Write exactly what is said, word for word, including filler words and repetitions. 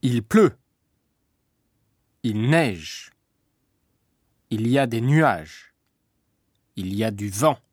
Il pleut. Il neige. Il y a des nuages. Il y a du vent.